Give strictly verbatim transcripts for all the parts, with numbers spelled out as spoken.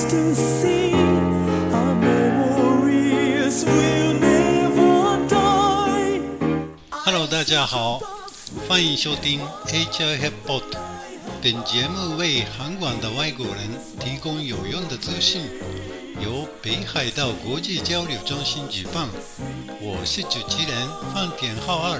distant sea, our memories will never die. Hello， 大家好，欢迎收听 H I F Pod。本节目为韩馆的外国人提供有用的资讯，由北海道国际交流中心举办。我是主持人范田浩二。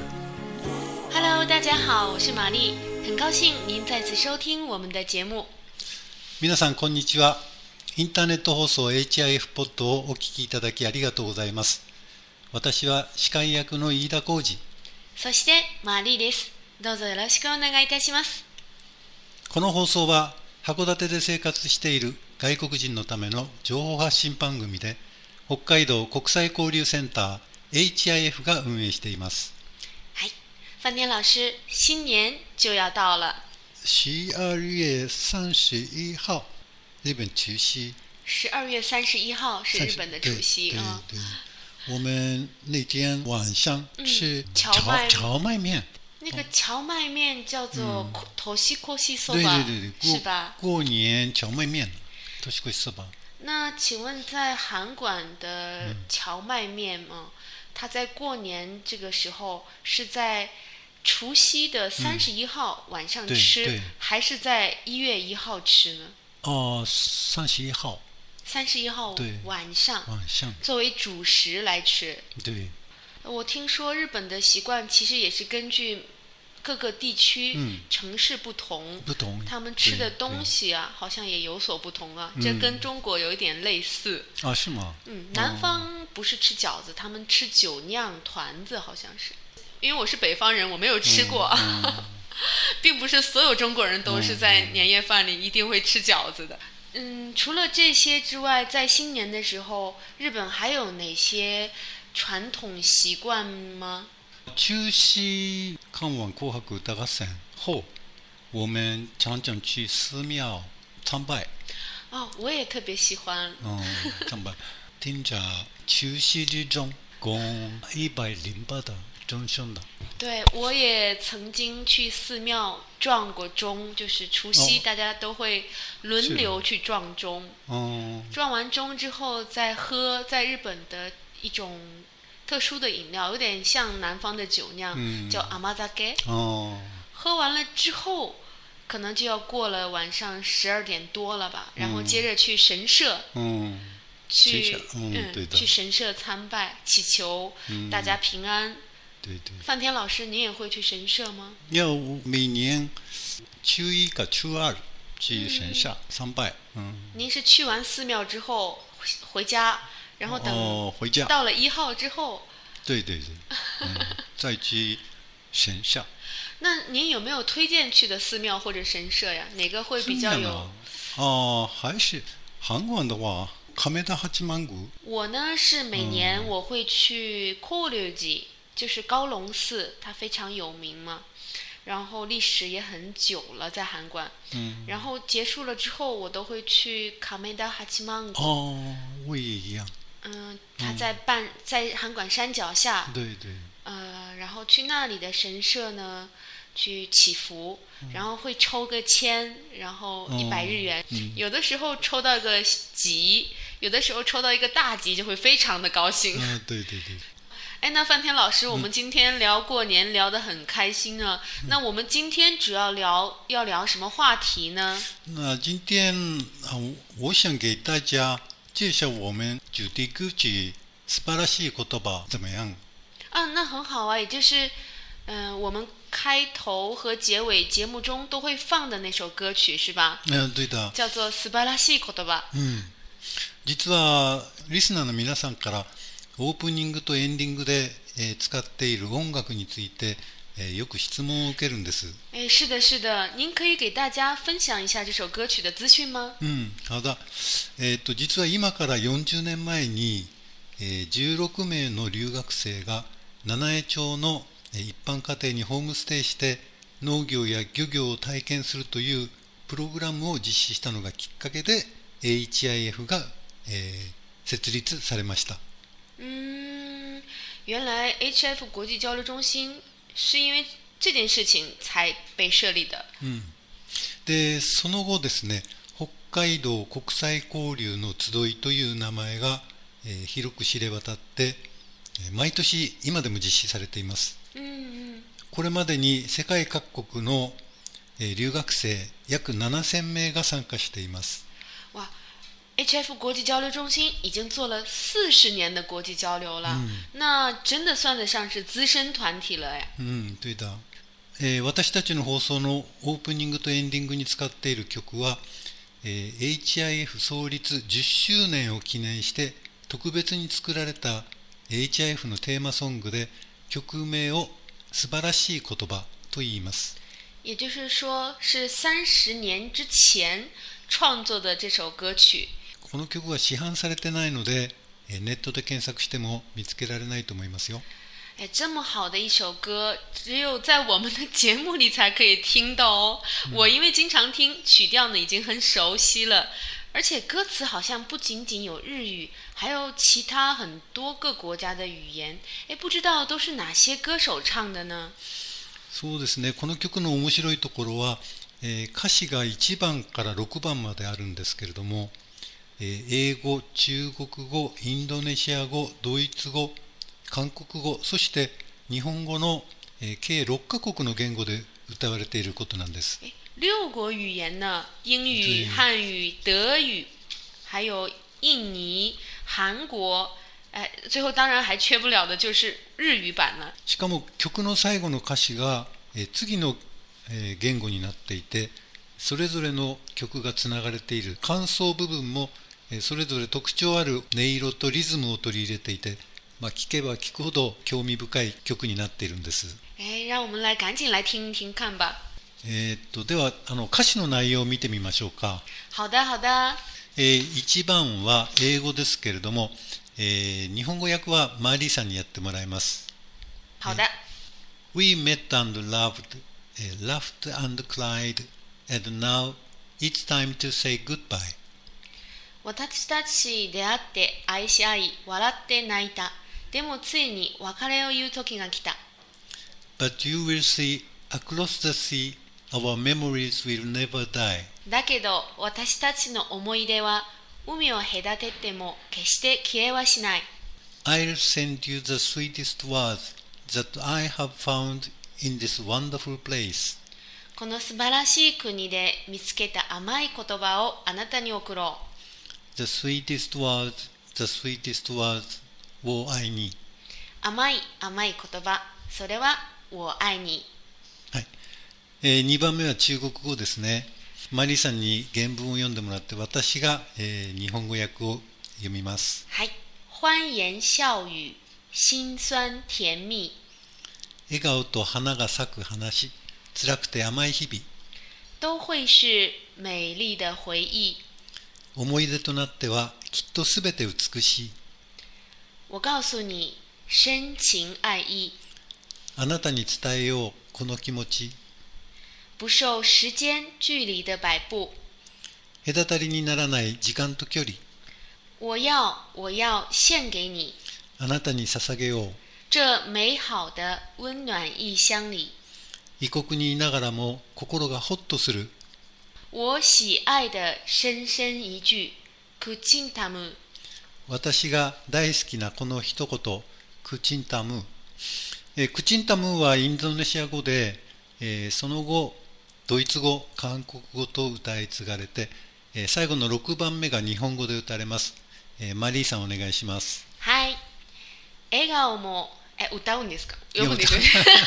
Hello， 大家好，我是玛丽，很高兴您再次收听我们的节目。 皆さんこんにちは。インターネット放送 H I F ポッドをお聞きいただきありがとうございます。私は司会役の飯田浩二。 そしてマリーです。どうぞよろしくお願いいたします。 この放送は函館で生活している外国人のための情報発信番組で、北海道国際交流センター H I F が運営しています。 はい、范田老师，新年就要到了。 十二月三十一号，日本除夕。 十二月三十一号是日本的除夕啊。 对对对，我们那天晚上吃荞荞荞麦面。 那个荞麦面叫做头西阔西そ对ば， 对对对， 是吧？ 过年荞麦面，头西阔西そば。 那请问在韩馆的荞麦面吗？它在过年这个时候是在除夕的三十一号晚上吃， 对对还是在一月一号吃呢？ 哦，三十一号。 三十一号晚上， 晚上作为主食来吃。 对。 我听说日本的习惯其实也是根据各个地区、 嗯、 城市不同， 不同， 他们吃的东西啊，好像也有所不同啊。这跟中国有一点类似。 啊，是吗？ 嗯，南方不是吃饺子，他们吃酒酿团子，好像是。因为我是北方人，我没有吃过，嗯嗯、并不是所有中国人都是在年夜饭里一定会吃饺子的。嗯，除了这些之外，在新年的时候，日本还有哪些传统习惯吗？ 中西看完紅白歌合戦後，我們常常去寺廟參拜。 哦，我也特別喜歡。 嗯，參拜，聽着除夕之鐘，供一百零八的鐘聲的。 对，我也曾经去寺庙撞过钟，就是除夕大家都会轮流去撞钟。 哦。 撞完钟之后再喝，在日本的一种特殊的饮料，有点像南方的酒酿，嗯、叫阿玛扎给。 哦。 喝完了之后，可能就要过了晚上十二点多了吧，然后接着去神社， 嗯， 去嗯嗯对的去神社参拜，祈求大家平安。嗯、 对对。 范田老师，你也会去神社吗？ 要每年初一กับ初二去神社参拜。嗯。 您是去完寺庙之后回家？然后等哦，回家到了一号之后， 对对对，嗯、再去神社。 那您有没有推荐去的寺庙或者神社呀？哪个会比较有？ 哦、啊，还是韩国的话，亀田八幡宮。 我呢是每年我会去高龍寺，就是高龍寺，它非常有名嘛。然后历史也很久了，在韩馆。嗯。然后结束了之后，我都会去亀田八幡宮。 哦，我也一样。 嗯，他在半、嗯、在韩馆山脚下， 对对， 呃，然后去那里的神社呢，去祈福，嗯、然后会抽个签，然后一百日元、哦嗯，有的时候抽到个吉，有的时候抽到一个大吉，就会非常的高兴。 嗯、啊，对对对。 哎，那范田老师，我们今天聊过年聊得很开心啊、嗯。那我们今天主要聊要聊什么话题呢？ 那今天啊，我想给大家介绍我们主题歌曲《素晴らしい言葉》怎么样？ 啊，那很好啊，也就是，嗯、呃，我们开头和结尾节目中都会放的那首歌曲是吧？ 嗯，对的。 叫做《素晴らしい言葉》。 嗯，実はリスナーの皆さんからオープニングとエンディングで、えー、使っている音楽について、えー、よく質問を受けるんです。 哎，是的，是的，您可以给大家分享一下这首歌曲的资讯吗？ うん、好だ。えー、と実は今からよんじゅうねんまえに、えー、じゅうろくめいの留学生が七重町の一般家庭にホームステイして農業や漁業を体験するというプログラムを実施したのがきっかけで エイチアイエフ が、えー、設立されました。 嗯，原来 H F 国际交流中心是因为这件事情才被设立的。 うん、でその後ですね、北海道国際交流の集いという名前が、えー広く知れ渡って、えー毎年今でも実施されています。 嗯嗯， これまでに世界各国の、えー留学生約ななせんめいが参加しています。 哇 ，H F 国际交流中心已经做了四十年的国际交流了，那真的算得上是资深团体了呀。 うん、というだ、えー私たちの放送のオープニングとエンディングに使っている曲は、えー エイチアイエフ 創立じゅっしゅうねんを記念して特別に作られた エイチアイエフ のテーマソングで、曲名を素晴らしい言葉と言います。 也就是说，是三十年之前创作的这首歌曲。 この曲は市販されてないので、えーネットで検索しても見つけられないと思いますよ。 哎，这么好的一首歌，只有在我们的节目里才可以听到哦。我因为经常听，曲调呢已经很熟悉了，而且歌词好像不仅仅有日语，还有其他很多个国家的语言。哎，不知道都是哪些歌手唱的呢？ そうですね、この曲の面白いところは、えー歌詞がいちばんからろくばんまであるんですけれども、えー英語、中国語、インドネシア語、ドイツ語、韓国語、そして日本語の、えー計ろっかこくの言語で歌われていることなんです。 诶六国语言呢，英语、 对汉语、德语，还有印尼、韩国，哎，最后当然还缺不了的就是日语版了。 しかも曲の最後の歌詞が、えー次の、えー言語になっていて、それぞれの曲がつながれている間奏部分も、えーそれぞれ特徴ある音色とリズムを取り入れていて、まあ、聴けば聴くほど興味深い曲になっているんです。 哎，让我们来赶紧来听一听看吧。 えーっとではあの歌詞の内容を見てみましょうか。 好的，好的。 えーいちばんは英語ですけれども、えー日本語訳はマーリーさんにやってもらいます。 好的。 We met and loved, eh, laughed and cried, and now it's time to say goodbye. 私たち出会って愛し合い笑って泣いた。でもついに別れを言う時が来た。 But you will see, across the sea, our memories will never die. だけど私たちの思い出は海を隔てても決して消えはしない。 I'll send you the sweetest words that I have found in this wonderful place. この素晴らしい国で見つけた甘い言葉をあなたに送ろう。 The sweetest words, the sweetest words, を愛に。 甘い甘い言葉、それは我愛你。 はい。えーにばんめは中国語ですね。マリーさんに原文を読んでもらって、私が、えー日本語訳を読みます。 はい。欢言笑语、辛酸甜蜜。 笑顔と花が咲く話、辛くて甘い日々。 都会是美丽的回忆。 思い出となってはきっとすべて美しい。 我告诉你、深情愛意。 あなたに伝えようこの気持ち。 不受時間距離的擺布。 隔たりにならない時間と距離。 我要我要獻給你。 あなたに捧げよう。 這美好的溫暖異鄉裡。 異国にいながらも心がホッとする。 我喜愛的深深一句、クチンタム。 私が大好きなこの一言、クチンタム。えークチンタムはインドネシア語で、えーその後ドイツ語、韓国語と歌い継がれて、えー最後のろくばんめが日本語で歌われます。えーマリーさんお願いします。 はい。笑顔も、え、歌うんですか？読むんですよ。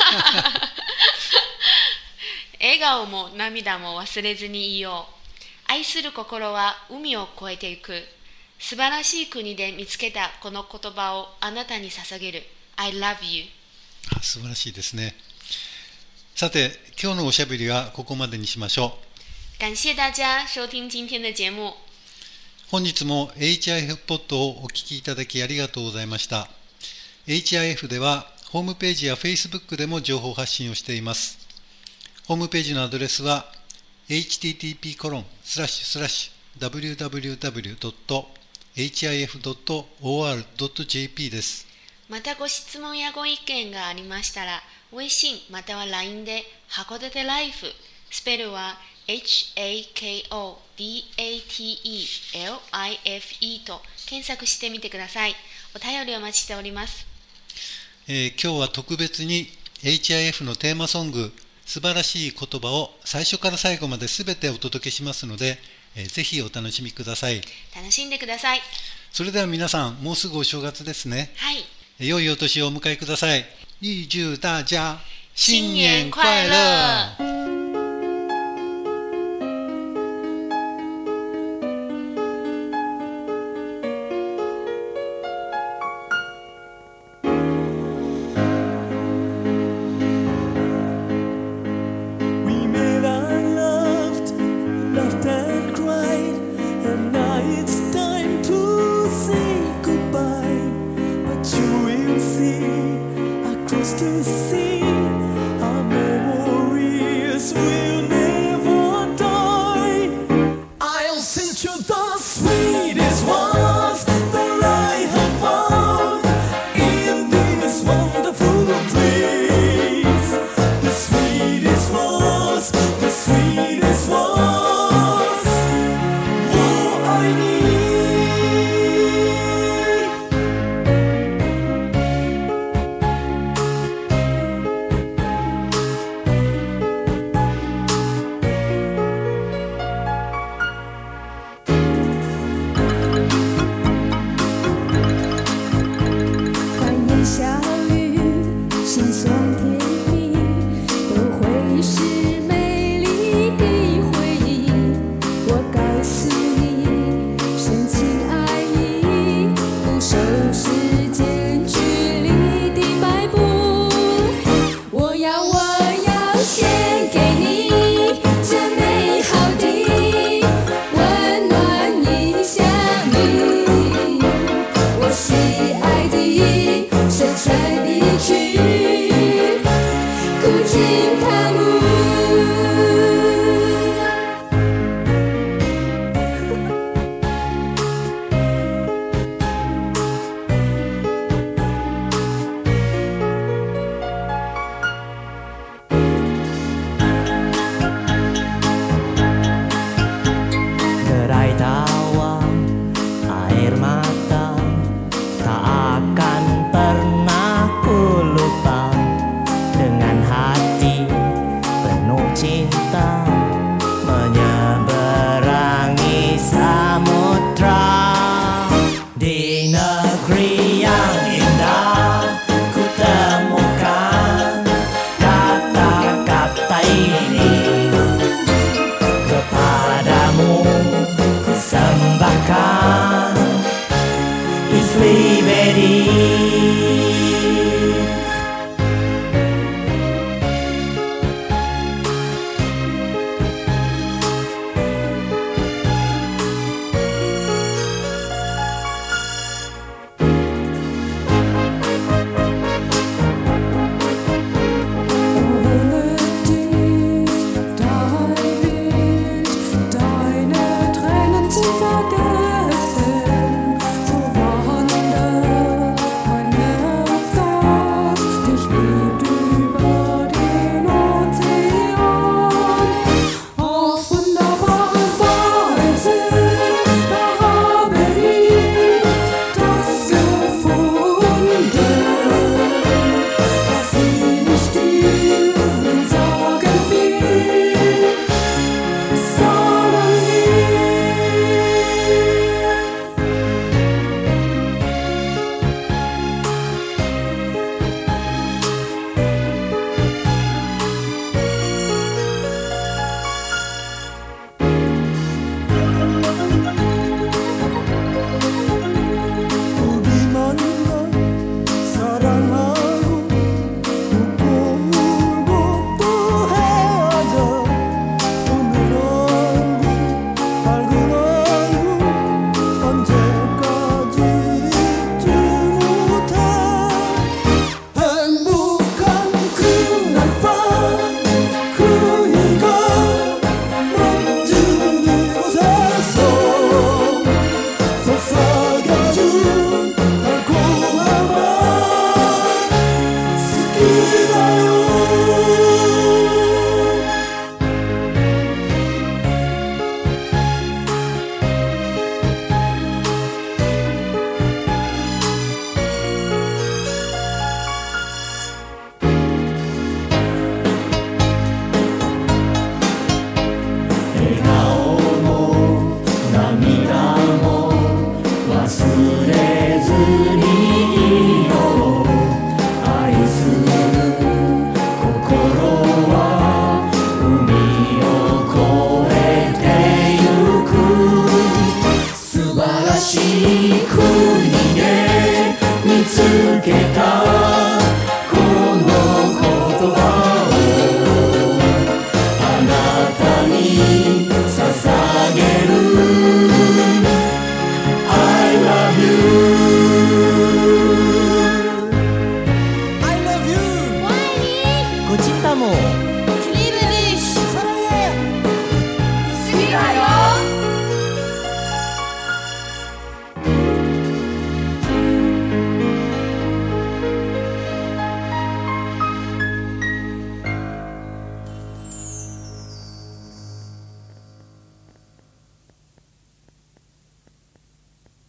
笑顔も涙も忘れずにいよう。愛する心は海を越えていく。素晴らしい国で見つけたこの言葉をあなたに捧げる。I love you。 あ、素晴らしいですね。さて、今日のおしゃべりはここまでにしましょう。 感謝大家收聽今天的節目。 本日も エイチアイエフ ポッドをお聞きいただきありがとうございました。エイチアイエフ ではホームページや Facebook でも情報発信をしています。ホームページのアドレスは エイチティーティーピーコロンスラッシュスラッシュダブリューダブリューダブリュードットエイチアイエフドットオーアールドットジェーピー です。 またご質問やご意見がありましたら、微信または ライン で函館ライフ、スペルはエイチ エー ケー オー ディー エー ティー イー エル アイ エフ イー と検索してみてください。お便りお待ちしております。 えー今日は特別に エイチアイエフ のテーマソング素晴らしい言葉を最初から最後まで全てお届けしますので、えーぜひお楽しみください。 楽しんでください。 それでは皆さん、もうすぐお正月ですね。 はい。 良いお年をお迎えください。预祝大家新年快乐。 We met and loved, laughed and cried, and now it's time to say goodbye. But you will see across the sea our memories しい国で見つけたこの言葉をあなたに捧げる I love you I love you 我爱你。 Ku cintamu